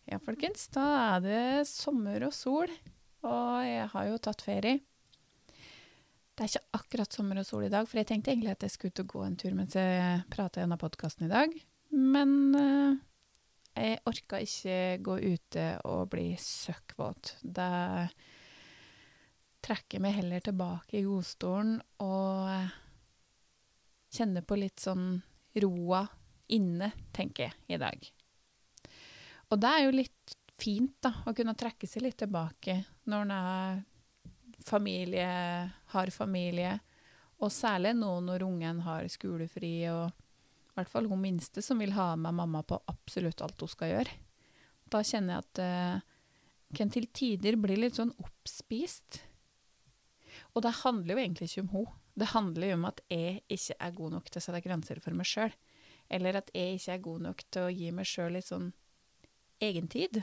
Ja, folkens, da det sommer og sol, og jeg har jo tatt ferie. Det ikke akkurat sommer og sol i dag, for jeg tenkte egentlig at jeg skulle ut og gå en tur mens jeg pratet gjennom podcasten i dag. Men jeg orket ikke gå ute og bli søkkvåt. Da trekker jeg meg heller tilbake i godstolen og kjenner på litt sånn roa inne, tenker jeg, i dag. Og det jo litt fint da, å kunne trekke seg litt tilbake når en har familie, og særlig nå når ungen har skolefri, og i hvert fall hun minste som vil ha med mamma på absolutt alt hun skal gjøre. Da kjenner jeg at kan til tider bli litt sånn oppspist. Og det handler jo egentlig ikke om hun. Det handler jo om at jeg ikke god nok til å sette grenser for meg selv, eller at jeg ikke god nok til å gi meg selv litt sånn egentid.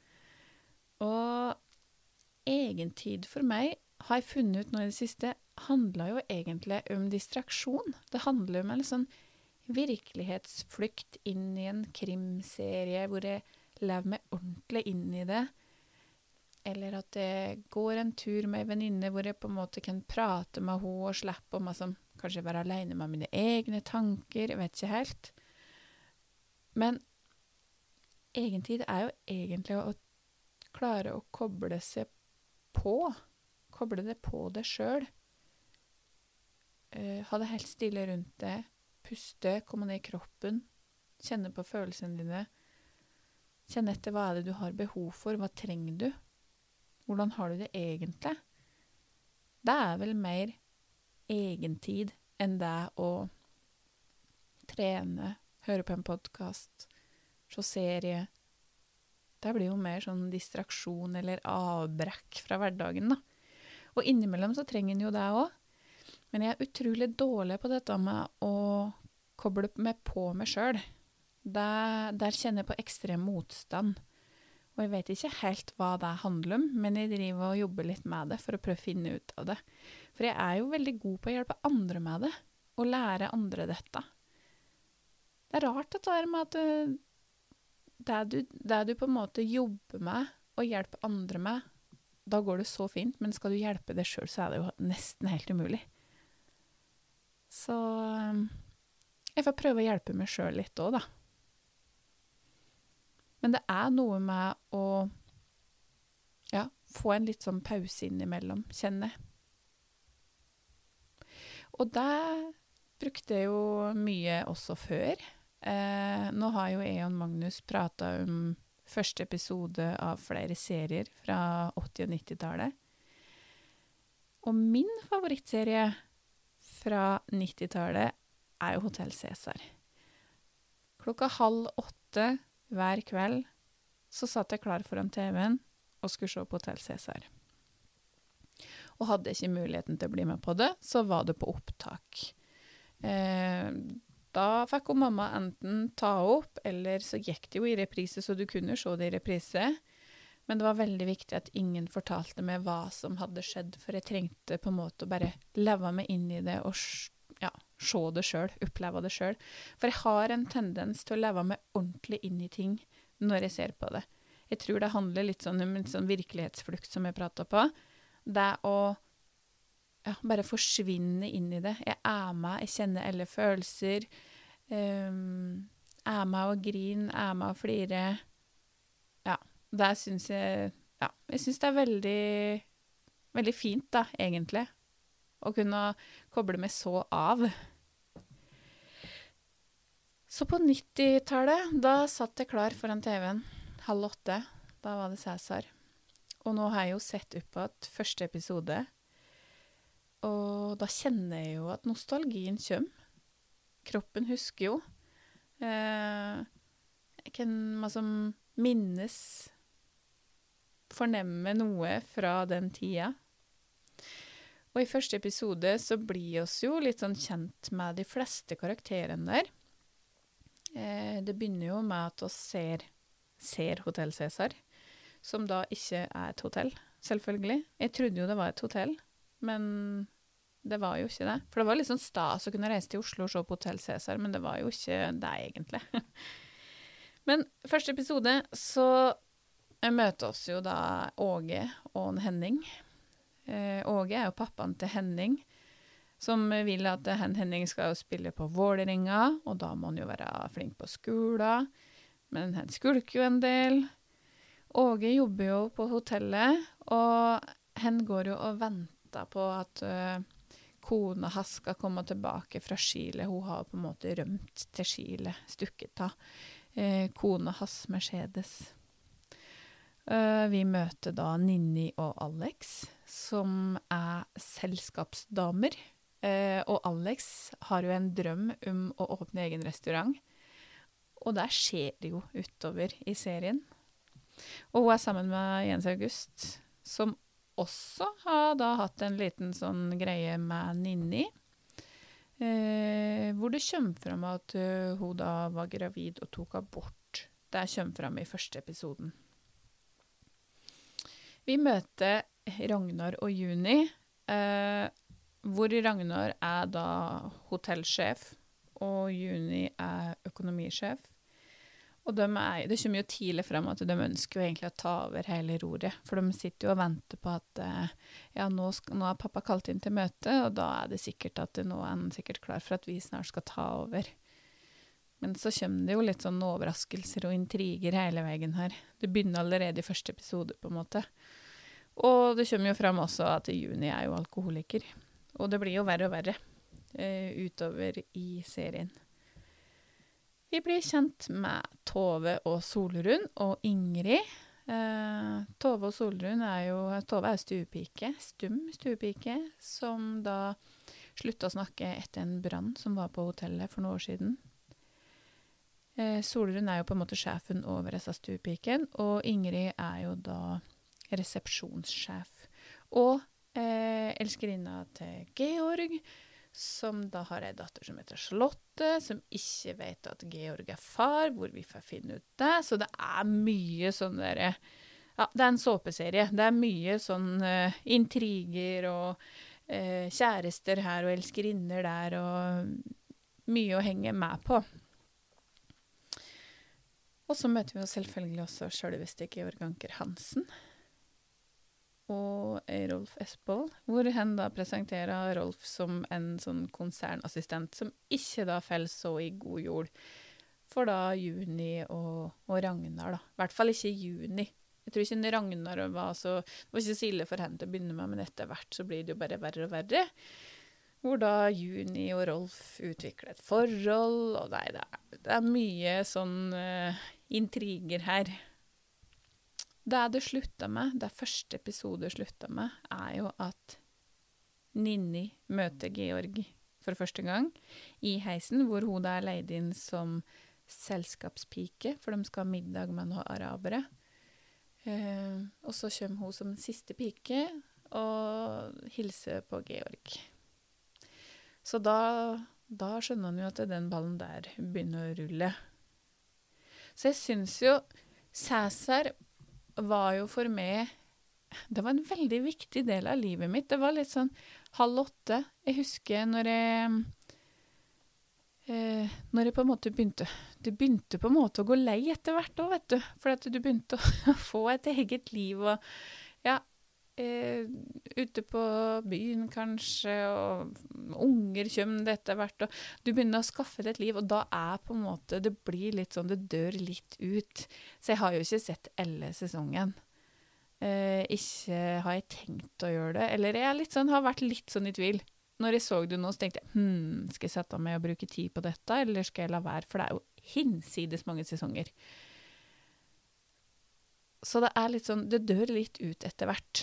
Og egentid for meg, har jeg funnet ut nå i det siste, handler jo egentlig om distraksjon. Det handler om en sånn virkelighetsflykt inn i en krimserie, hvor jeg lever meg ordentlig inn i det. Eller at jeg går en tur med en venninne, hvor jeg på en måte kan prate med henne og slippe om å kanskje være alene med mine egne tanker, jeg vet ikke helt. Men egentid jo egentlig å klare å koble seg på. Koble det på deg selv. Ha det helt stille rundt deg. Puste, komme ned i kroppen. Kjenne på følelsene dine. Kjenne etter hva det du har behov for. Hva trenger du? Hvordan har du det egentlig? Det vel mer egentid enn det å trene, høre på en podcast, se serie. Det blir jo mer sånn distraksjon eller avbrekk fra hverdagen da. Og innimellom så trenger en jo det også. Men jeg utrolig dårlig på dette med å koble meg på meg selv. Der kjenner jeg på ekstrem motstand. Og jeg vet ikke helt hva det handler om, men jeg driver og jobber litt med det for å prøve å finne ut av det. For jeg jo veldig god på å hjelpe andre med det, og lære andre dette. Det rart at det med at det du på en måte jobber med og hjelper andre med, da går det så fint, men skal du hjelpe deg selv, så det jo nesten helt umulig. Så jeg får prøve å hjelpe meg selv litt også, da. Men det noe med å få en litt sånn pause innimellom, kjenne. Og det brukte jeg jo mye også før. Nå har jo jeg og Magnus pratet om første episode av flere serier fra 80- og 90-tallet. Og min favorittserie fra 90-tallet jo Hotel Cæsar. 7:30 hver kveld så satt jeg klar foran TV-en og skulle se på Hotel Cæsar. Og hadde jeg ikke muligheten til å bli med på det, så var det på opptak. Da fikk jo mamma enten ta opp, eller så gikk det jo i reprise, så du kunne se det i reprise. Men det var veldig viktig at ingen fortalte meg hva som hadde skjedd, for jeg trengte på en måte å bare leve meg inn i det og se det selv, oppleve det selv. For jeg har en tendens til å leve meg ordentlig inn i ting når jeg ser på det. Jeg tror det handler litt sånn om en sånn virkelighetsflukt som jeg pratet på. Det å bare forsvinne inn i det. Jeg med, jeg kjenner alle følelser. Med å grine, med å flire. Ja, det synes jeg... Ja, jeg synes det veldig, veldig fint da, egentlig. Å kunne koble meg så av. Så på 90-tallet, da satt jeg klar foran TV-en. 7:30, da var det Cæsar. Og nå har jeg jo sett opp på et første episode. Og da kjenner jeg jo at nostalgien kommer. Kroppen husker jo. Jeg kan minnes, fornemme noe fra den tida. Og i første episode så blir oss jo litt sånn kjent med de fleste karakterene der. Det begynner jo med at oss ser Hotel Cæsar, som da ikke et hotell, selvfølgelig. Jeg trodde jo det var et hotell, men det var jo ikke det. For det var litt sånn stas å kunne reise til Oslo og se på Hotel Cæsar, men det var jo ikke det egentlig. Men første episode så Jeg møter oss jo da Åge og en Henning. Åge er jo pappaen til Henning, som vil at Henning skal jo spille på Vålerenga, og da må han jo være flink på skolen, men han skulker jo en del. Åge jobber jo på hotellet, og han går jo og venter på at kona hans skal komme tilbake fra Chile. Hun har på en måte rømt til Chile, stukket av kona hans Mercedes. Vi møter da Ninni og Alex, som er selskapsdamer. Og Alex har jo en drøm om å åpne egen restaurant. Og der skjer det jo utover i serien. Og hun er sammen med Jens August, som også har da hatt en liten sånn greie med Ninni. Hvor det kommer frem at hun da var gravid og tok abort. Det kommer frem i første episoden. Vi møter Ragnar og Juni, hvor Ragnar er da hotellsjef, og Juni er økonomisjef. Og det kommer jo tidlig frem at de ønsker jo egentlig å ta over hele roret, for de sitter jo og venter på at nå er pappa kalt inn til møte, og da er det sikkert at nå er han sikkert klar for at vi snart skal ta over. Men så kommer det jo litt sånn overraskelser og intriger hele veien her. Det begynner allerede i første episode, på en måte. Og det kommer jo frem også at Juni er jo alkoholiker. Og det blir jo verre og verre utover i serien. Vi blir kjent med Tove og Solrun og Ingrid. Tove og Solrun Tove er stuepike, stum stuepike, som da sluttet å snakke etter en brann som var på hotellet for noen år siden. Solrun er jo på en måte sjefen over disse stuepiken, og Ingrid er jo da resepsjonssjef. Og elskerinna til Georg, som da har en datter som heter Charlotte, som ikke vet at Georg er far, hvor vi får finne ut det. Så det er mye sånn der, ja, det er en såpeserie. Det er mye sånn intriger og kjærester her og elskerinner der, og mye å henge med på. Og så møter vi jo selvfølgelig også selveste Georg Anker Hansen og Rolf Espold, hvor han da presenterer Rolf som en sånn konsernassistent som ikke da faller så i god jord for da Juni og Ragnar da. I hvert fall ikke Juni. Jeg tror ikke Ragnar det var ikke så ille for henne til å begynne med, men etter hvert så blir det jo bare verre og verre. Hvor da Juni og Rolf utvikler et forhold, og nei, det er mye sånn intriger her. Det sluttet med, det første episode sluttet med, er jo at Ninni møter Georg for første gang i heisen, hvor hun da er leid inn som selskapspike, for de skal ha middag med noen arabere. Og så kommer hun som siste pike og hilser på Georg. Så da skjønner han jo at den ballen der begynner å rulle. Så jeg synes jo Cæsar var jo for meg, det var en veldig viktig del av livet mitt. Det var litt sånn 7:30. Jeg husker når jeg på en måte det begynte på en måte å gå lei etter hvert også, vet du. For at du begynte å få et eget liv, og ja, ute på byen kanskje, og unger kommer det etter hvert, og du begynner å skaffe deg et liv, og da på en måte, det blir litt sånn, det dør litt ut. Så jeg har jo ikke sett alle sesongen. Ikke har jeg tenkt å gjøre det, eller jeg har vært litt sånn i tvil. Når jeg så det nå, så tenkte jeg, skal jeg sette meg og bruke tid på dette, eller skal jeg la være, for det er jo hinsides mange sesonger. Så det litt sånn, det dør litt ut etter hvert.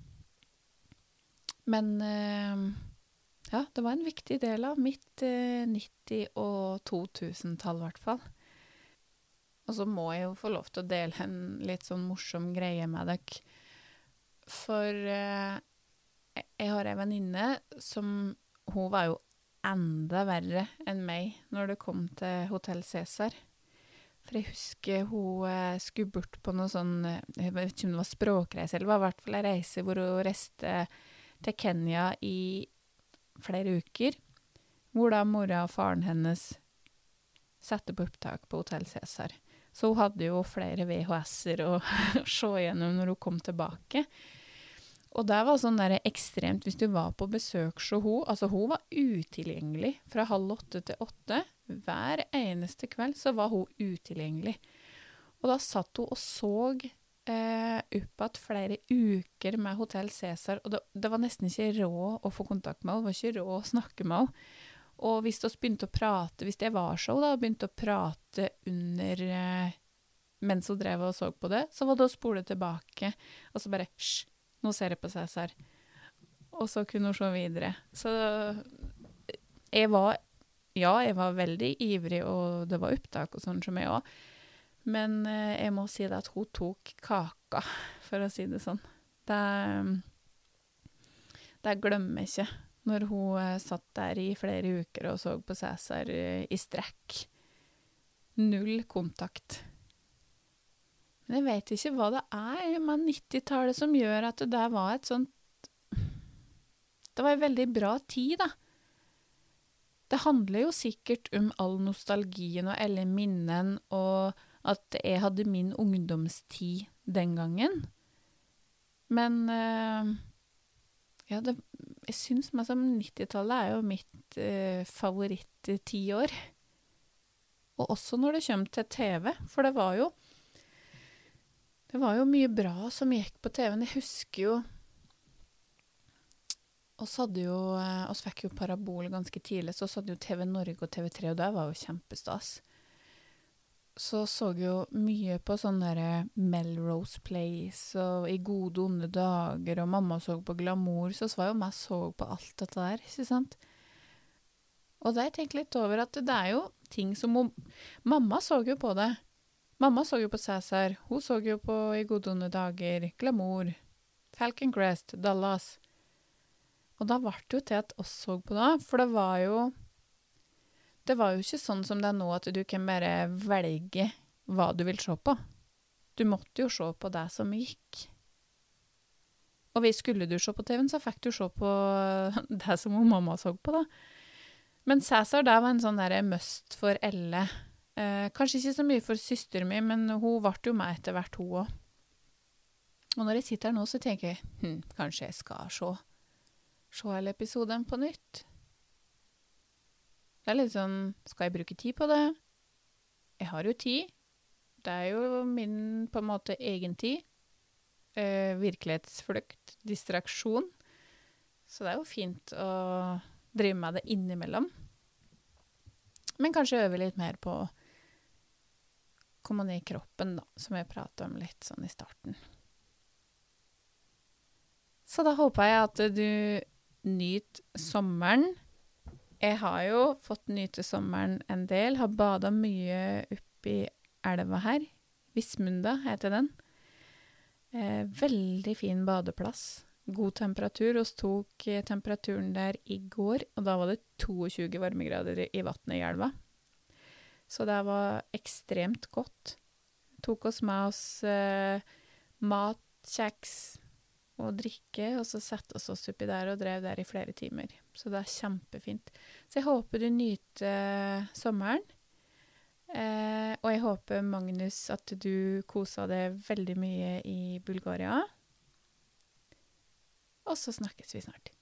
Men ja, det var en viktig del av mitt 90- og 2000-tall i hvert fall. Og så må jeg jo få lov til å dele en litt sånn morsom greie med dere. For jeg har en venninne som, hun var jo enda verre enn meg når det kom til Hotell Cæsar. For jeg husker hun skulle bort på noe sånn, jeg vet ikke om det var språkreise, eller det var i hvert fall en reise hvor hun reiste til Kenya i flere uker, hvor da mora og faren hennes satte på opptak på Hotell Cæsar. Så hun hadde jo flere VHS-er å se igjennom når hun kom tilbake. Og det var sånn der ekstremt, hvis du var på besøk så hun var utilgjengelig fra 7:30 til 8. Hver eneste kveld så var hun utilgjengelig. Og da satt hun og så opp at flere uker med Hotel Cæsar, og det var nesten ikke råd å få kontakt med henne, det var ikke råd å snakke med henne. Og hvis vi begynte å prate, hvis det var så, da, begynte å prate under, mens hun drev og så på det, så var det å spole tilbake, og så bare, hysj, nå ser jeg på Cæsar. Og så kunne hun se videre. Så jeg var veldig ivrig, og det var opptak og sånn som jeg også. Men jeg må si det at hun tok kaka, for å si det sånn. Det glemmer jeg ikke, når hun satt der i flere uker og så på Cæsar i strekk. Null kontakt. Men jeg vet ikke hva det med 90-tallet som gjør at det var et sånt... Det var en veldig bra tid, da. Det handler jo sikkert om all nostalgien og alle minnen, og at jeg hadde min ungdomstid den gangen. Men jeg synes meg som 90-tallet jo mitt favoritt-10 år. Og også når det kommer til TV, for det var jo mye bra som gikk på TV-en. Jeg husker jo, oss fikk jo parabol ganske tidlig, så hadde jo TV Norge og TV3, og det var jo kjempestas. Så jo mye på sånne der Melrose Place, og I gode onde dager, og mamma så på Glamour, så var jo meg så på alt dette der, ikke sant? Og da jeg tenkte litt over at det jo ting som mamma så jo på det. Mamma så jo på Cæsar, hun så jo på I gode onde dager, Glamour, Falcon Crest, Dallas. Og da ble det jo til at oss så på det, for det var jo ikke sånn som det nå, at du kan bare velge hva du vil se på. Du måtte jo se på det som gikk. Og skulle du se på TV-en, så fikk du se på det som mamma så på da. Men Cæsar, det var en sånn der must for Elle. Kanskje ikke så mye for søsteren min, men hun ble jo med etter hvert, hun også. Og når jeg sitter her nå, så tenker jeg, kanskje jeg skal se hele episoden på nytt. Det litt sånn, skal jeg bruke tid på det? Jeg har jo tid. Det jo min, på en måte, egen tid. Virkelighetsflukt, distraksjon. Så det jo fint å drive med det innimellom. Men kanskje øve litt mer på å komme ned I kroppen, da, som jeg pratet om litt sånn I starten. Så da håper jeg at du nyter sommeren. Jeg har jo fått nyte sommeren en del, har badet mye oppi elva her. Vismunda heter den. Veldig fin badeplass. God temperatur. Vi tok temperaturen der I går, og da var det 22 varmegrader I vattnet I elva. Så det var ekstremt godt. Tok oss med oss mat, kjeks og drikke, og så sette oss oppi der og drev der I flere timer. Så det kjempefint. Så jeg håper du nyter sommeren. Og jeg håper, Magnus, at du koset deg veldig mye I Bulgaria. Og så snakkes vi snart.